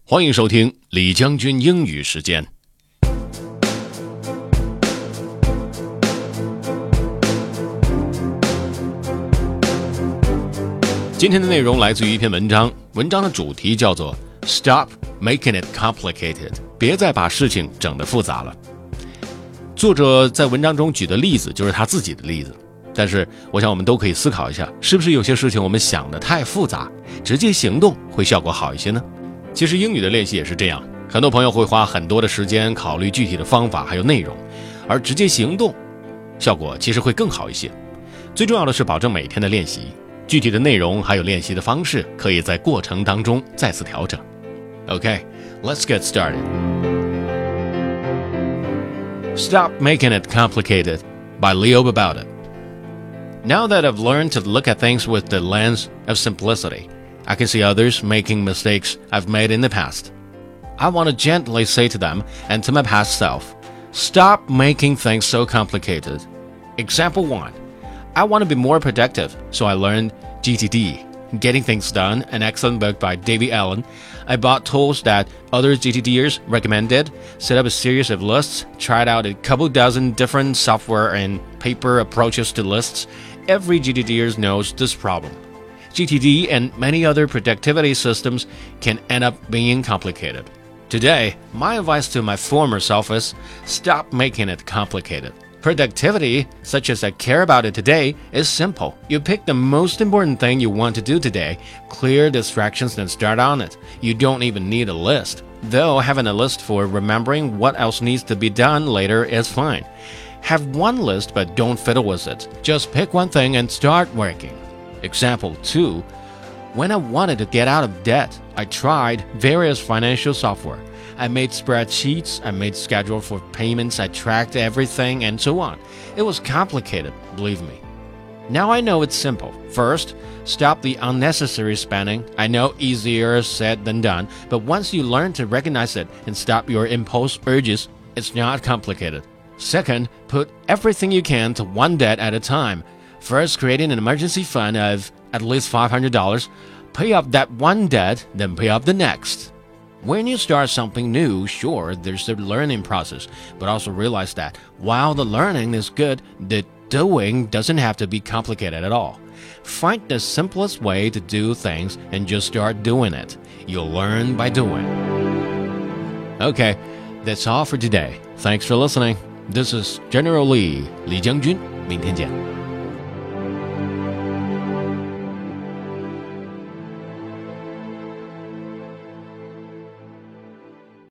欢迎收听李将军英语时间。今天的内容来自于一篇文章，文章的主题叫做 Stop Making It Complicated， 别再把事情整得复杂了。作者在文章中举的例子就是他自己的例子，但是我想我们都可以思考一下，是不是有些事情我们想得太复杂，直接行动会效果好一些呢？其实英语的练习也是这样，很多朋友会花很多的时间考虑具体的方法还有内容，而直接行动效果其实会更好一些。最重要的是保证每天的练习，具体的内容还有练习的方式可以在过程当中再次调整。 Okay, let's get started. Stop Making It Complicated by Leo Babauta. Now that I've learned to look at things with the lens of simplicity, I can see others making mistakes I've made in the past. I want to gently say to them and to my past self, stop making things so complicated. Example 1. I want to be more productive, so I learned GTD, Getting Things Done, an excellent book by David Allen. I bought tools that other GTDers recommended, set up a series of lists, tried out a couple dozen different software and paper approaches to lists. Every GTDer knows this problem. GTD and many other productivity systems can end up being complicated. Today, my advice to my former self is stop making it complicated. Productivity, such as I care about it today, is simple. You pick the most important thing you want to do today, clear distractions and start on it. You don't even need a list. Though having a list for remembering what else needs to be done later is fine. Have one list but don't fiddle with it. Just pick one thing and start working. Example 2. When I wanted to get out of debt, I tried various financial software. I made spreadsheets, I made schedule for payments, I tracked everything, and so on. It was complicated, believe me. Now I know it's simple. First, stop the unnecessary spending. I know easier said than done, but once you learn to recognize it and stop your impulse urges, it's not complicated. Second, put everything you can to one debt at a time. First, creating an emergency fund of at least $500. Pay off that one debt, then pay off the next. When you start something new, sure, there's a learning process, but also realize that while the learning is good, the doing doesn't have to be complicated at all. Find the simplest way to do things and just start doing it. You'll learn by doing. Okay, that's all for today. Thanks for listening. This is General Lee, 李将军，明天见。